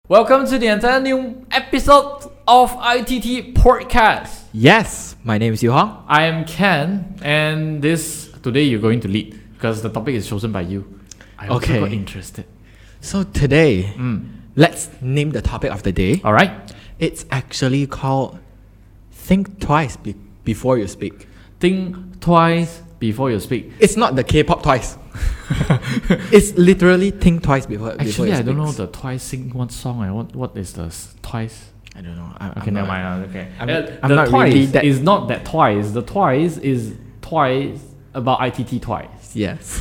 Welcome to the entire new episode of ITT Podcast. Yes, my name is Yu Hong. I am Ken, and today you're going to lead because the topic is chosen by you. I also got interested. So today, let's name the topic of the day. All right. It's actually called Think Twice Before You Speak. Think twice before you speak. It's not the K-pop Twice. It's literally think twice before Actually, before you I don't speak. know the Twice sing one song. What is the Twice? I don't know. Okay, never mind. Okay. I'm the not Twice really that- is not that Twice. The Twice is twice about ITT Twice. Yes.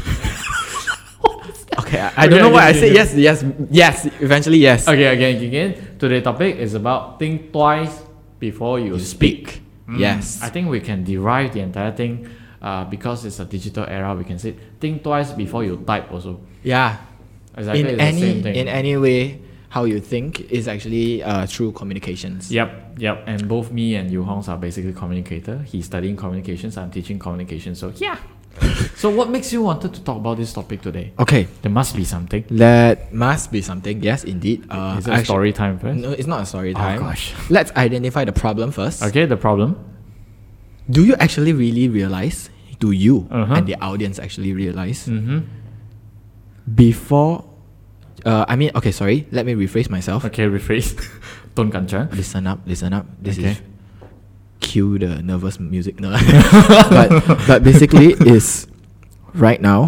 Okay, I don't know why I said yes. Eventually, yes. Okay, again. Today's topic is about think twice before you speak. Yes. I think we can derive the entire thing because it's a digital era. We can say think twice before you type also. Yeah. Exactly, In it's the same thing. any way, how you think is actually through communications. Yep. And both me and Yu Hong are basically communicator. He's studying communications. I'm teaching communication. So yeah. So what makes you wanted to talk about this topic today? Okay. There must be something. That must be something. Yes, indeed. Is it a story time first? No, it's not a story time. Oh gosh. Let's identify the problem first. Okay, the problem. Do you actually really realize? Do you Uh-huh. and the audience actually realize Mm-hmm. before? Okay, sorry. Let me rephrase myself. Okay, rephrase. Don't kanchang. Listen up. This Okay. is cue the nervous music. No, but basically is right now.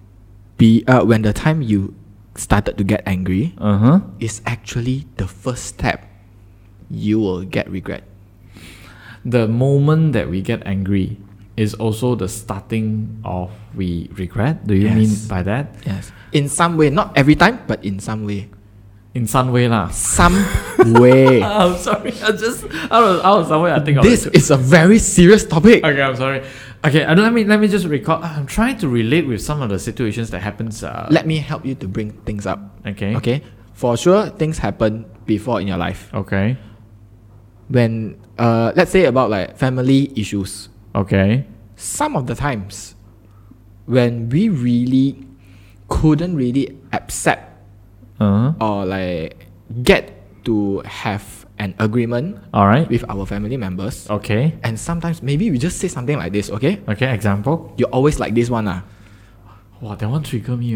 When the time you started to get angry Uh-huh. is actually the first step. You will get regret. The moment that we get angry is also the starting of we regret. Do you mean Yes. by that? Yes. In some way, not every time, but in some way. In some way lah. Some way. I'm sorry. I just out of somewhere I think This of it. is a very serious topic. Okay, I'm sorry. Okay, let me just recall. I'm trying to relate with some of the situations that happens. Let me help you to bring things up. Okay. Okay. For sure, things happen before in your life. Okay. When let's say about like family issues. Okay. Some of the times when we really couldn't really accept Uh-huh. or like get to have an agreement All right. with our family members. Okay. And sometimes maybe we just say something like this, okay? Okay. Example. You always like this one, ah. Wow, that one trigger me.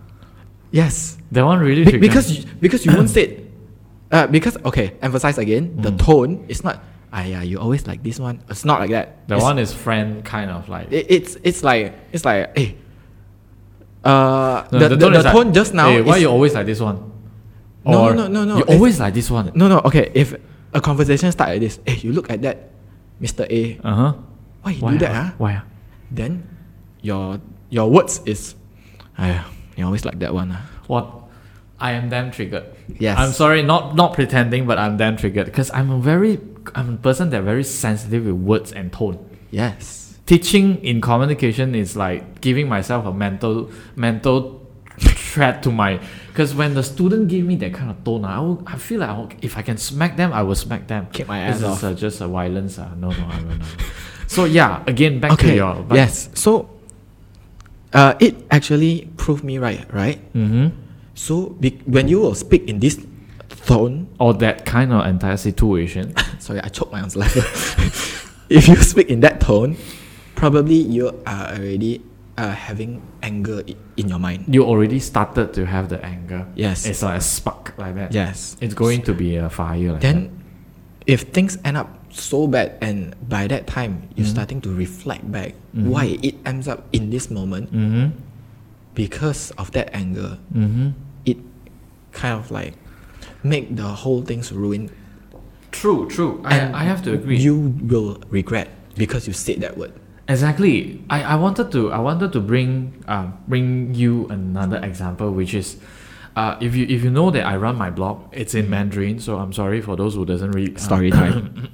Yes. That one really trigger me. Because you won't say it. Because okay, emphasize again, the tone is not yeah, you always like this one. It's not like that. The one is friend kind of like. It's like hey. No, The tone is tone like, just now hey, why is, you always like this one? No, Or no. You always like this one. no, okay. If a conversation start like this, hey, you look at that, Mr. A. Uh-huh. Why you do that, huh? Why? Then your words is, you always like that one, huh? What? I am damn triggered. Yes. I'm sorry, not pretending, but I'm damn triggered because I'm a person that very sensitive with words and tone. Yes. Teaching in communication is like giving myself a mental threat to my, because when the student give me that kind of tone, I feel like if I can smack them, I will smack them. Kick my ass This off. is just a violence. No. So yeah, again back to your. Yes. So, it actually proved me right. Mm-hmm. So when you will speak in this tone, Or that kind of entire situation. sorry, I choked my own saliva. If you speak in that tone, probably you are already having anger in your mind. You already started to have the anger. Yes. It's like a spark like that. Yes. It's going to be a fire like Then, if things end up so bad, and by that time you're starting to reflect back why it ends up in this moment, that. Mm-hmm. because of that anger, Mm-hmm. it kind of like make the whole thing's ruin. True. I have to agree. You will regret because you said that word. Exactly. I wanted to bring you another example, which is if you know that I run my blog, it's in Mandarin, so I'm sorry for those who doesn't read. Story time.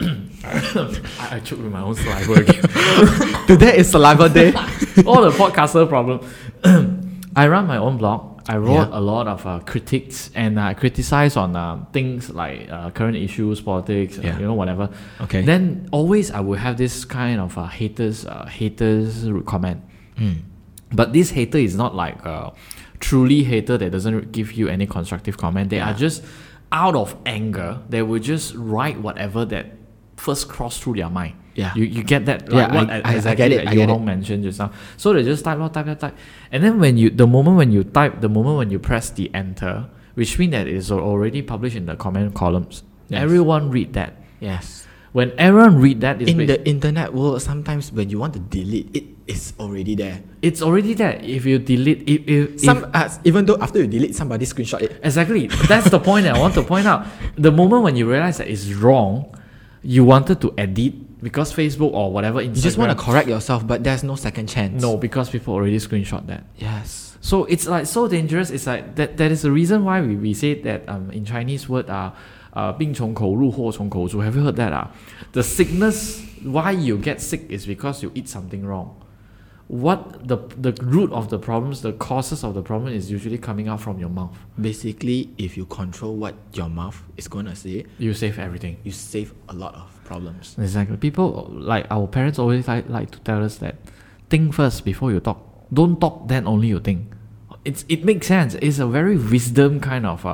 I choked with my own saliva again. Today is saliva day. All the podcaster problem. I run my own blog. I wrote Yeah. a lot of critiques, and I criticize on things like current issues, politics, whatever. Okay. Then always I will have this kind of haters comment. But this hater is not like truly hater that doesn't give you any constructive comment. They are just out of anger, they will just write whatever that first cross through their mind. Yeah. You get that? Yeah, Like what I exactly get it, that I get Yo it. Hong mentioned just now. So they just type, and then the moment when you press the enter, which means that it is already published in the comment columns. Yes. Everyone read that. Yes. When everyone read that, In the internet world, sometimes when you want to delete, it is already there. it's already there. If you delete, if Even though after you delete, somebody screenshot it. exactly, that's the point that I want to point out. The moment when you realize that it's wrong, you wanted to edit because Facebook or whatever Instagram. You just want to correct yourself, but there's no second chance. No, because people already screenshot that. Yes. So it's like so dangerous. It's like that is the reason why we say that in Chinese word 病从口入祸从口出. Have you heard that? The sickness, why you get sick is because you eat something wrong. What the root of the problems, the causes of the problem is usually coming out from your mouth. Basically, if you control what your mouth is going to say, You save everything. you save a lot of problems. Exactly. People like our parents always like to tell us that think first before you talk. Don't talk, then only you think. It makes sense. It's a very wisdom kind of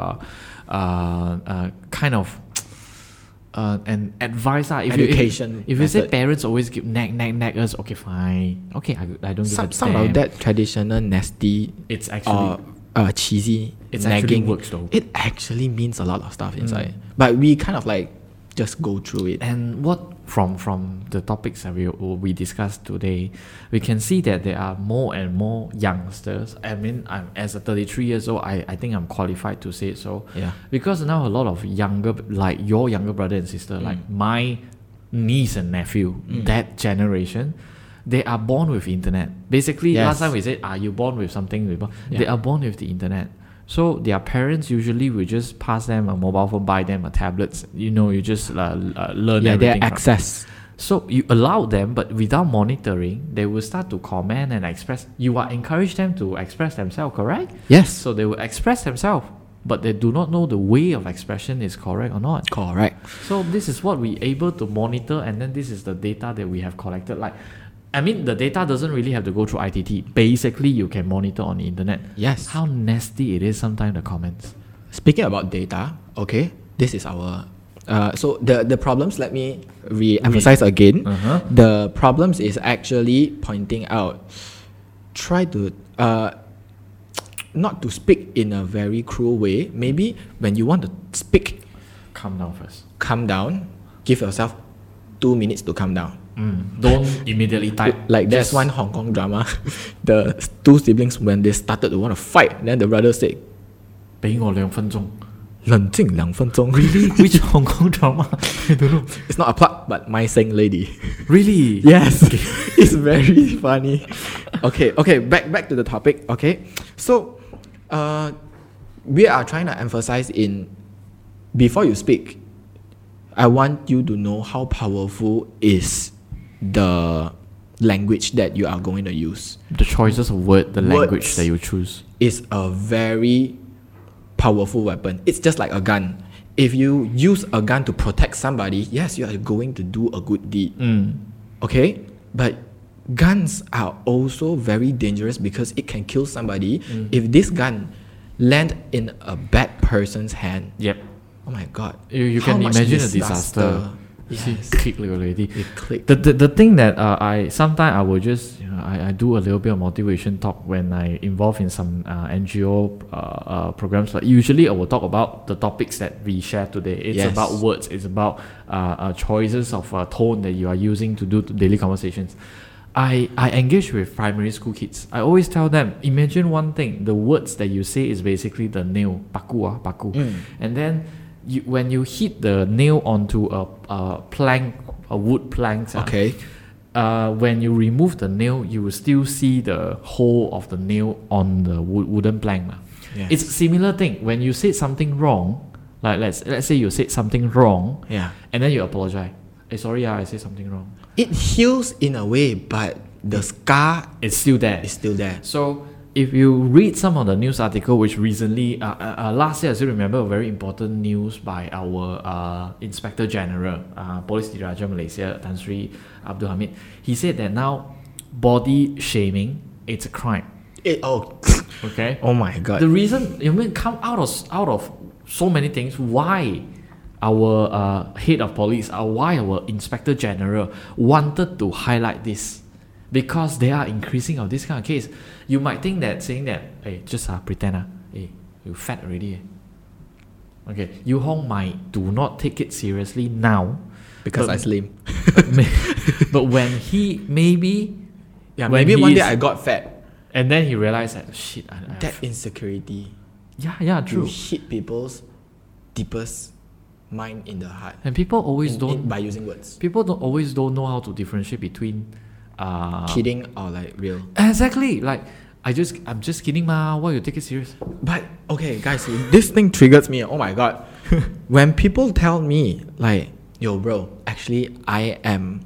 an advice. Education If you say method. parents always give nag us, okay, fine. Okay, I don't give a Some damn. of that traditional nasty It's actually or cheesy It's actually nagging works though. it actually means a lot of stuff inside. But we kind of like just go through it. And what from the topics that we discussed today, we can see that there are more and more youngsters. I mean, I'm as a 33 years old, I think I'm qualified to say it so. Yeah. Because now a lot of younger, like your younger brother and sister, like my niece and nephew, that generation, they are born with internet. Basically, Yes. last time we said, are you born with something? Yeah. They are born with the internet. So their parents usually will just pass them a mobile phone, buy them a tablet. You just learn Yeah, their everything. access. So you allow them, but without monitoring, they will start to comment and express. You are encourage them to express themselves, correct? Yes. So they will express themselves, but they do not know the way of expression is correct or not. Correct. So this is what we able to monitor, and then this is the data that we have collected. Like, I mean, the data doesn't really have to go through ITT. Basically, you can monitor on the internet. Yes. How nasty it is sometimes, the comments. Speaking about data, okay, this is our so the problems, let me re-emphasize again. Uh-huh. The problems is actually pointing out, try to not to speak in a very cruel way. Maybe when you want to speak, Calm down first. calm down, give yourself 2 minutes to calm down. Don't immediately type. Like there's Just- one Hong Kong drama, the two siblings, when they started to want to fight, then the brother said, 俾我2分鐘。 冷静2分钟. Really? Which Hong Kong drama? I don't know. It's not a plug, but My Sing Lady. Really? Yes, it's very funny. Okay, back to the topic. Okay, so we are trying to emphasize in before you speak, I want you to know how powerful is the language that you are going to use. The choices of word, the language Words. that you choose. Is a very powerful weapon. It's just like a gun. If you use a gun to protect somebody, yes, you are going to do a good deed. Okay? But guns are also very dangerous because it can kill somebody. If this gun land in a bad person's hand, Yep. oh my god. You how can much imagine a disaster. See, Yes. click already. It clicked. The thing that I sometimes I will just I do a little bit of motivation talk when I involve in some NGO programs. But usually I will talk about the topics that we share today. It's Yes. about words. It's about choices of tone that you are using to do daily conversations. I engage with primary school kids. I always tell them, imagine one thing. The words that you say is basically the nail, paku. And then when you hit the nail onto a plank, a wood plank, Okay. when you remove the nail, you will still see the hole of the nail on the wooden plank. Yes. It's a similar thing. When you say something wrong, like let's say you said something wrong, Yeah. and then you apologize. Hey, sorry, I said something wrong. It heals in a way, but the scar It's still there. is still there. So if you read some of the news article, which recently, last year I still remember a very important news by our Inspector General, Polis Diraja Malaysia, Tan Sri Abdul Hamid. He said that now body shaming, it's a crime. Oh Okay. my god. The reason you mean come out of so many things why our head of police, why our inspector general wanted to highlight this, because they are increasing of this kind of case. You might think that saying that, hey, just pretend, hey, you fat already. Okay, Yu Hong might do not take it seriously now because I slim. But when he maybe one day I got fat, and then he realized that shit. That insecurity. Yeah, true. You hit people's deepest mind in the heart. And people always by using words. People don't know how to differentiate between kidding or like real. Exactly. Like I'm just kidding, ma. Why you take it serious? But okay, guys, this thing triggers me. Oh my god. When people tell me like, yo bro, actually I am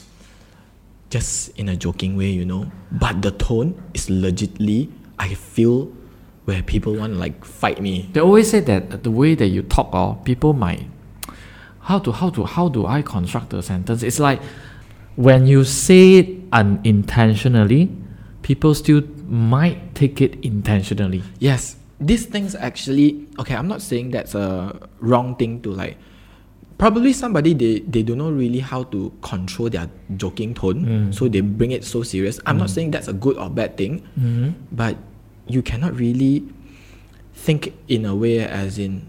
just in a joking way, you know, but the tone is legitly, I feel, where people want to like fight me. They always say that the way that you talk, people might how do I construct the sentence? It's like when you say it unintentionally, people still might take it intentionally. Yes, these things actually, okay, I'm not saying that's a wrong thing to like, probably somebody they don't know really how to control their joking tone, so they bring it so serious. I'm not saying that's a good or bad thing, but you cannot really think in a way as in,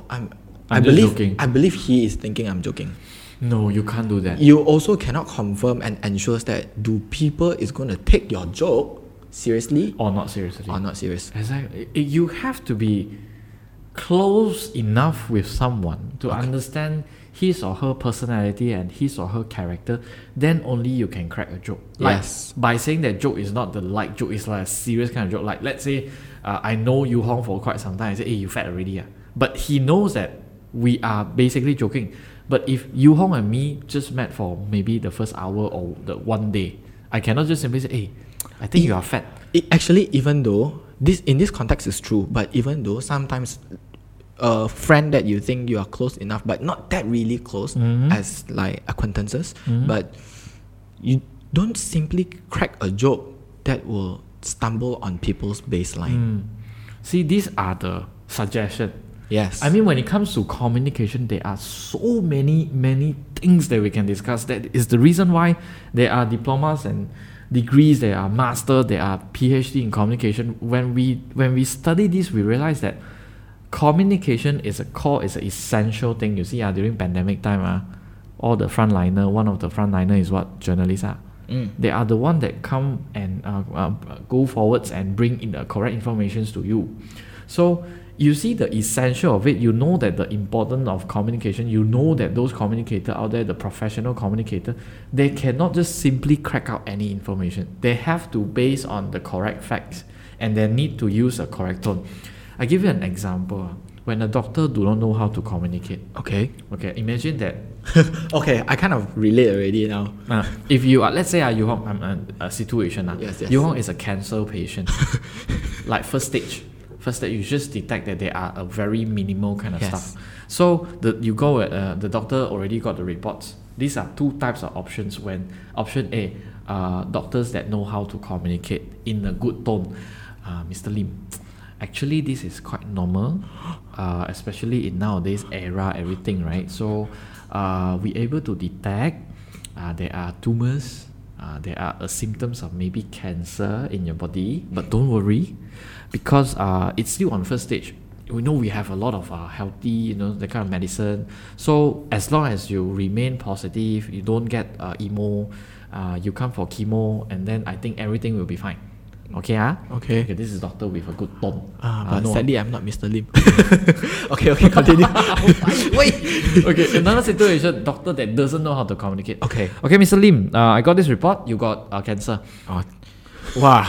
I believe he is thinking I'm joking. No, you can't do that. You also cannot confirm and ensure that do people is going to take your joke seriously or not seriously. Or not serious. Exactly. You have to be close enough with someone to understand his or her personality and his or her character, then only you can crack a joke. Like, yes. By saying that joke is not the light joke, it's like a serious kind of joke. Like, let's say I know Yu Hong for quite some time. I say, hey, you fat already. But he knows that we are basically joking. But if Yu Hong and me just met for maybe the first hour or the one day, I cannot just simply say, hey, I think you are fat. Actually, even though this in this context is true, but even though sometimes a friend that you think you are close enough, but not that really close as like acquaintances, but you don't simply crack a joke that will stumble on people's baseline. See, these are the suggestions. Yes. I mean, when it comes to communication, there are so many things that we can discuss. That is the reason why there are diplomas and degrees, there are master, there are PhD in communication. When we study this, we realize that communication is an essential thing. You see, during pandemic time, all the frontliner, one of the frontliner is what? Journalists are. They are the one that come and go forwards and bring in the correct information to you. So you see the essential of it. You know that the importance of communication. You know that those communicators out there, the professional communicator, they cannot just simply crack out any information. They have to base on the correct facts, and they need to use a correct tone. I give you an example. When a doctor do not know how to communicate. Okay, imagine that. Okay, I kind of relate already now. If you are, let's say Yu Hong, I'm a situation. Yes. Yu Hong is a cancer patient. Like first stage, you just detect that they are a very minimal kind of stuff. So you go at the doctor already got the reports. These are two types of options. When option A, doctors that know how to communicate in a good tone. Mr. Lim, actually this is quite normal, especially in nowadays era, everything, right? So we able to detect there are tumors, there are symptoms of maybe cancer in your body, but don't worry, because it's still on first stage. We know we have a lot of healthy, the kind of medicine. So as long as you remain positive, you don't get emo, you come for chemo, and then I think everything will be fine. Okay, Okay, this is doctor with a good tone. But sadly, I'm not Mr. Lim. Okay, continue. Wait. Okay, another situation, doctor that doesn't know how to communicate. Okay, Mr. Lim, I got this report. You got cancer. Wow.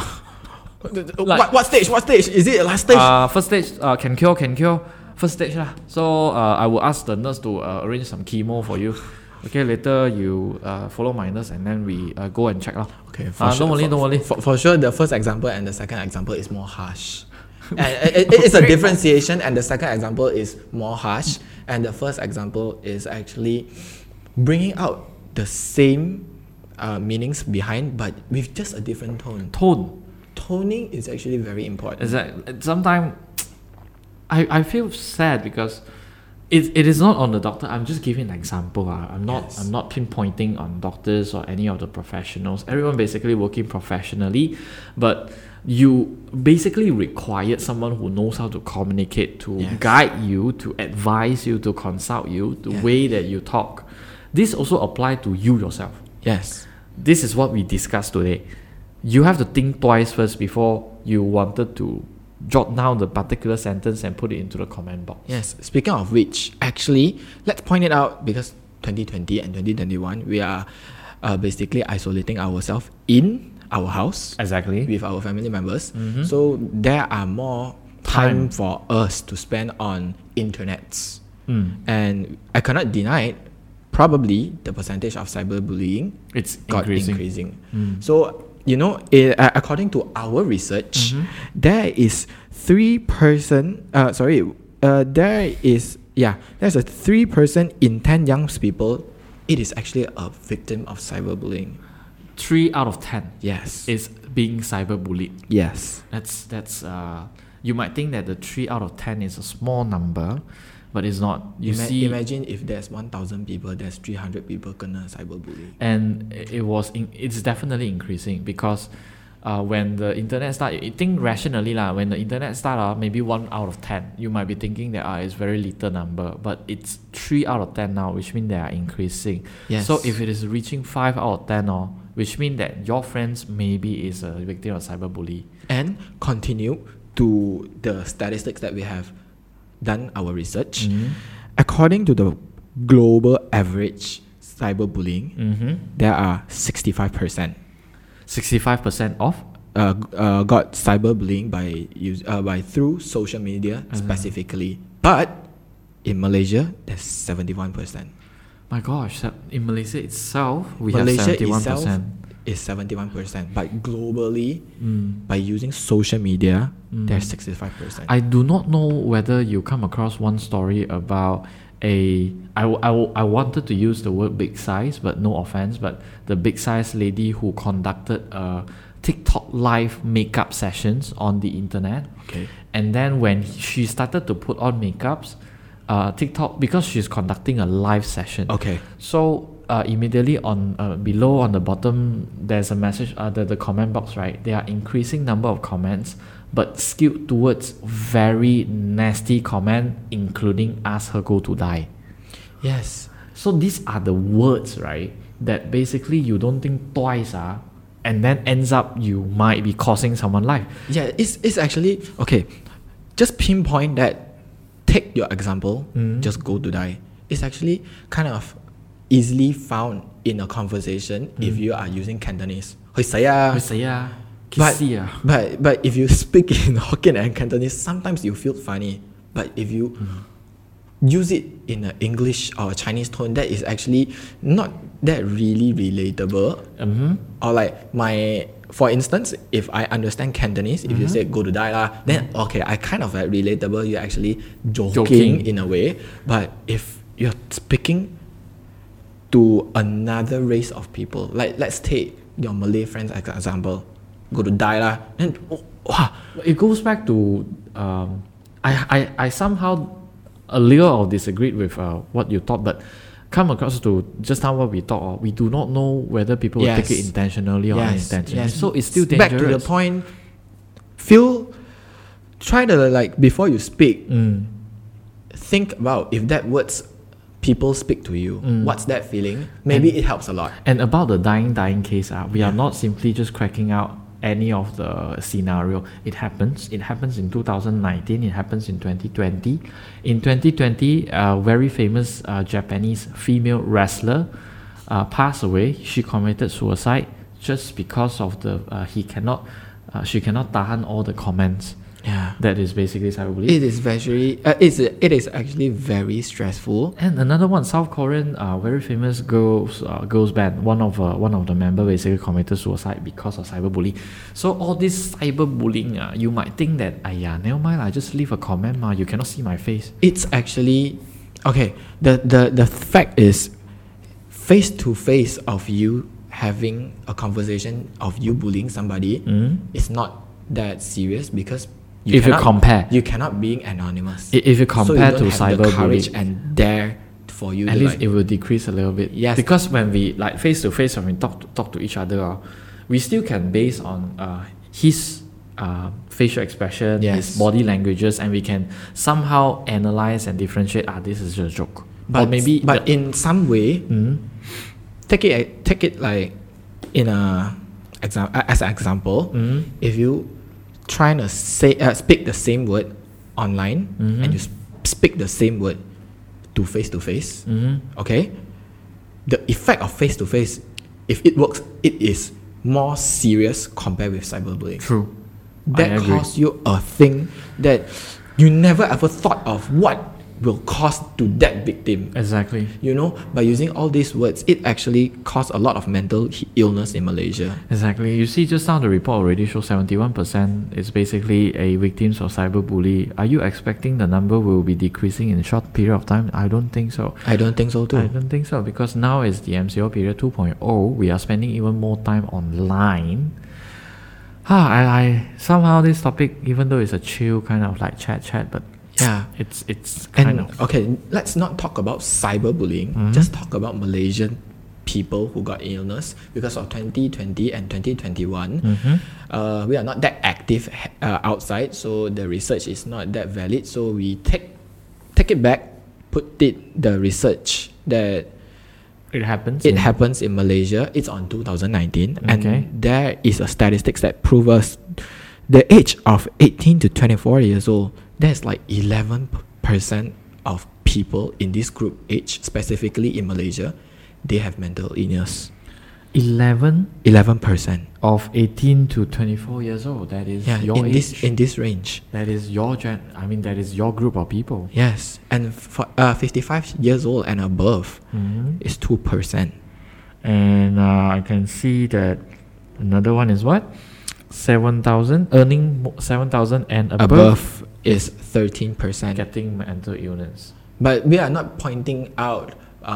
What stage? Is it last stage? First stage, can cure. First stage lah. So I will ask the nurse to arrange some chemo for you. Okay, later you follow my nurse and then we go and check lah. Okay, don't worry. For sure, the first example and the second example is more harsh. And it's a differentiation, and the second example is more harsh, and the first example is actually bringing out the same meanings behind, but with just a different tone. Toning is actually very important. Sometimes I feel sad because it is not on the doctor. I'm just giving an example. I'm not pinpointing on doctors or any of the professionals. Everyone basically working professionally, but you basically required someone who knows how to communicate, to guide you, to advise you, to consult you, the way that you talk. This also applies to you yourself. Yes. This is what we discussed today. You have to think twice first before you wanted to jot down the particular sentence and put it into the comment box. Yes. Speaking of which, actually, let's point it out, because 2020 and 2021, we are basically isolating ourselves in our house. Exactly. With our family members. So there are more time for us to spend on internets. And I cannot deny it, probably the percentage of cyberbullying It's got increasing. So, you know, according to our research, there is there's a 3% in 10 young people, it is actually a victim of cyberbullying. 3 out of 10 Yes. is being cyberbullied. Yes. That's you might think that the 3 out of 10 is a small number, but it's not. Imagine if there's 1,000 people, there's 300 people kena cyberbullying. And it's definitely increasing because when the internet start, you think rationally when the internet start, maybe 1 out of 10, you might be thinking that it's very little number, but it's 3 out of 10 now, which means they are increasing. Yes. So if it is reaching 5 out of 10, which means that your friends maybe is a victim of cyberbullying. And continue to the statistics that we have done our research. According to the global average cyberbullying, there are 65%. 65% of? Got cyberbullying by through social media specifically. But in Malaysia, there's 71%. My gosh, in Malaysia itself, Malaysia have 71%. itself is 71%. But globally, by using social media, there's 65%. I do not know whether you come across one story about I wanted to use the word big size, but no offense, but the big size lady who conducted TikTok live makeup sessions on the internet. Okay. And then when she started to put on makeups, TikTok, because she's conducting a live session. Okay. So immediately on below on the bottom, there's a message, the comment box, right? There are increasing number of comments, but skewed towards very nasty comment, including ask her go to die. Yes. So these are the words, right, that basically you don't think twice, and then ends up you might be causing someone life. Yeah, it's actually okay. Just pinpoint that. Take your example. Just go to die. It's actually kind of easily found in a conversation if you are using Cantonese. But if you speak in Hokkien and Cantonese, sometimes you feel funny. But if you use it in an English or a Chinese tone, that is actually not that really relatable. Or like for instance, if I understand Cantonese, if you say go to die lah, then okay, I kind of like relatable. You're actually joking in a way. But if you're speaking to another race of people, like let's take your Malay friends as an example, go to die lah, then it goes back to I somehow a little disagreed with what you thought, but come across to just now what we thought, we do not know whether people will take it intentionally or unintentionally. So it's still dangerous. Back to the point, try to like before you speak, think about if that words people speak to you, what's that feeling? Maybe it helps a lot. And about the dying case, we are not simply just cracking out any of the scenario. It happens in 2019, it happens in 2020. In 2020, a very famous Japanese female wrestler passed away. She committed suicide just because of she cannot tahan all the comments. Yeah, that is basically cyberbullying. It is very it is actually very stressful. And another one, South Korean very famous girls band, one of the members basically committed suicide because of cyberbullying. So all this cyberbullying, you might think that never mind, I just leave a comment, you cannot see my face. It's actually okay. The fact is, face to face of you having a conversation of you bullying somebody, it's not that serious because If you compare. you cannot be anonymous. If you compare so to you don't have the courage cyberbullying, and dare for you at to least like, it will decrease a little bit. Yes. Because when we like face to face, when we talk to each other, we still can base on his facial expression, Yes. his body languages, and we can somehow analyze and differentiate. This is just a joke. but or maybe but in some way, take it like in as an example. If you trying to say speak the same word online and you speak the same word to face, okay, the effect of face to face, if it works, it is more serious compared with cyberbullying. True. That I agree. costs you a thing that you never ever thought of what will cost to that victim. Exactly. You know, by using all these words, it actually caused a lot of mental illness in Malaysia. Exactly. You see, just now the report already shows 71% is basically a victims of cyberbully. Are you expecting the number will be decreasing in a short period of time? I don't think so. I don't think so too. I don't think so, because now is the MCO period 2.0. We are spending even more time online. I somehow this topic, even though it's a chill kind of like chat, but Yeah. it's kind And of okay, let's not talk about cyberbullying. Just talk about Malaysian people who got illness because of 2020 and 2021. We are not that active outside, so the research is not that valid. So we take it back, put the research that it happens. it happens in Malaysia. It's on 2019, Okay. and there is a statistics that proves us the age of 18 to 24 years old. There's like 11% of people in this group age, specifically in Malaysia, they have mental illness. 11 11%. of 18 to 24 years old. That is Yeah, your age. in this range. That is your that is your group of people. Yes, and for 55 years old and above is 2%. And I can see that another one is what? 7,000, earning 7,000 and Above is 13%. getting mental illness. But we are not pointing out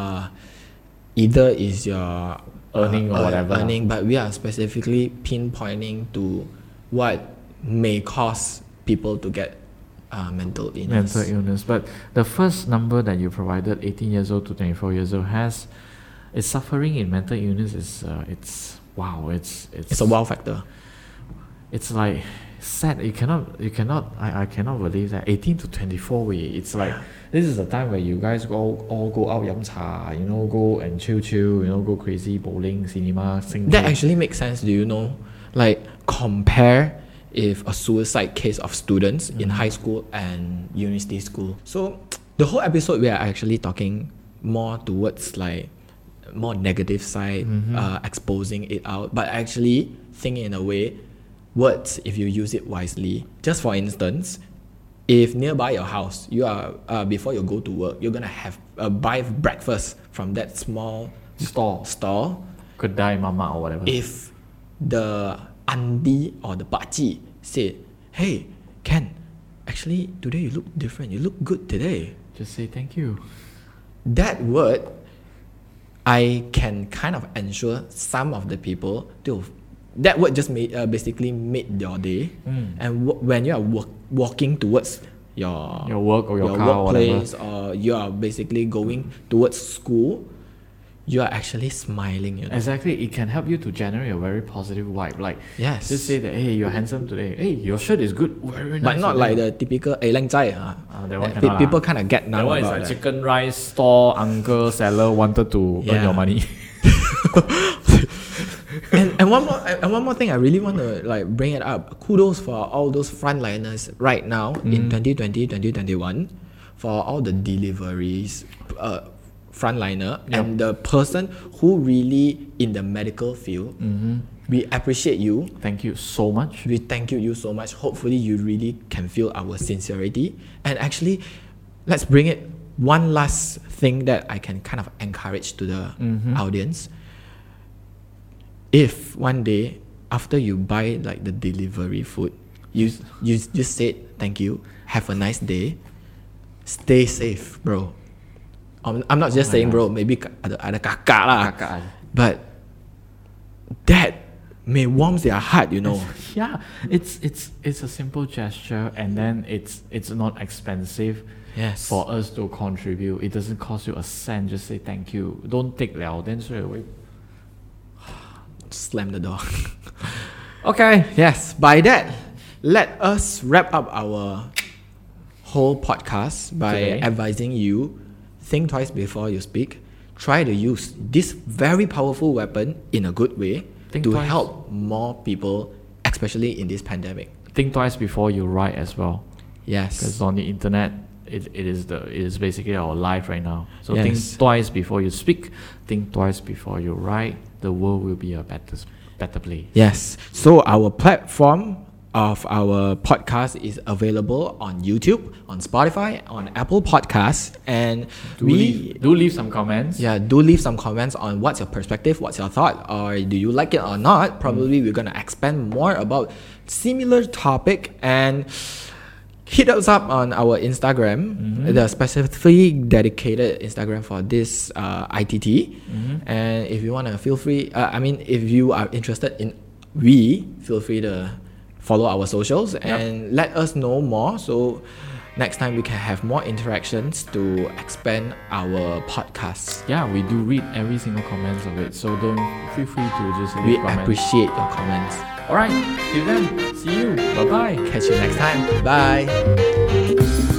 either is your Earning or whatever. earning, but we are specifically pinpointing to what may cause people to get mental illness. Mental illness. But the first number that you provided, 18 years old to 24 years old, is suffering in mental illness is it's wow. It's a wow factor. It's like sad. You cannot. I cannot believe that 18 to 24. It's like this is the time where you guys all go out 飲茶, go and chill, go crazy, bowling, cinema, sing. That actually makes sense. Do you know? Like compare if a suicide case of students in high school and university school. So the whole episode we are actually talking more towards like more negative side, exposing it out, but actually thinking in a way, words if you use it wisely. Just for instance, if nearby your house you are before you go to work, you're gonna have buy breakfast from that small store. Kedai mama or whatever. If the auntie or the pakcik said, "Hey, Ken, actually today you look different. You look good today." Just say thank you. That word, I can kind of ensure some of the people to. That word just basically made your day. And when you are walking towards your work or your car or workplace, or you are basically going towards school, you are actually smiling. Exactly, it can help you to generate a very positive vibe. Like, Yes. just say that, hey, you're handsome today. Hey, your shirt is good. Very nice. But not today. like the typical 靚仔 that one cannot people lah. kind of get That numb one is about like that. chicken rice store uncle seller wanted to earn Yeah. your money. and one more thing I really want to like bring it up. Kudos for all those frontliners right now in 2020, 2021 for all the deliveries frontliner and the person who really in the medical field. We appreciate you. Thank you so much. We thank you so much. Hopefully you really can feel our sincerity. And actually, let's bring it one last thing that I can kind of encourage to the audience. If one day after you buy like the delivery food, you just said thank you, have a nice day, stay safe, bro. I'm not just saying bro, maybe ada kakak lah. Kakak. But that may warm their heart, you know. Yeah, it's a simple gesture, and then it's not expensive. Yes. For us to contribute, it doesn't cost you a cent. Just say thank you. Don't take liao, then straight away. Slam the door. Okay, yes. By that, let us wrap up our whole podcast by Today. advising you, think twice before you speak. Try to use this very powerful weapon in a good way Think to twice. help more people, especially in this pandemic. Think twice before you write as well, Yes. because on the internet, it is basically our life right now. So Yes. think twice before you speak. Think twice before you write. The world will be a better place. Yes. So our platform of our podcast is available on YouTube, on Spotify, on Apple Podcasts, and Do leave some comments. do leave some comments on what's your perspective, what's your thought, or do you like it or not. Probably we're gonna expand more about similar topic, and hit us up on our Instagram, the specifically dedicated Instagram for this ITT. And if you wanna, feel free. If you are interested in, feel free to follow our socials and let us know more. So next time we can have more interactions to expand our podcast. Yeah, we do read every single comments of it. So don't feel free to just leave We comments. appreciate your comments. Alright, till then, see you. Bye bye. Catch you next time. Bye.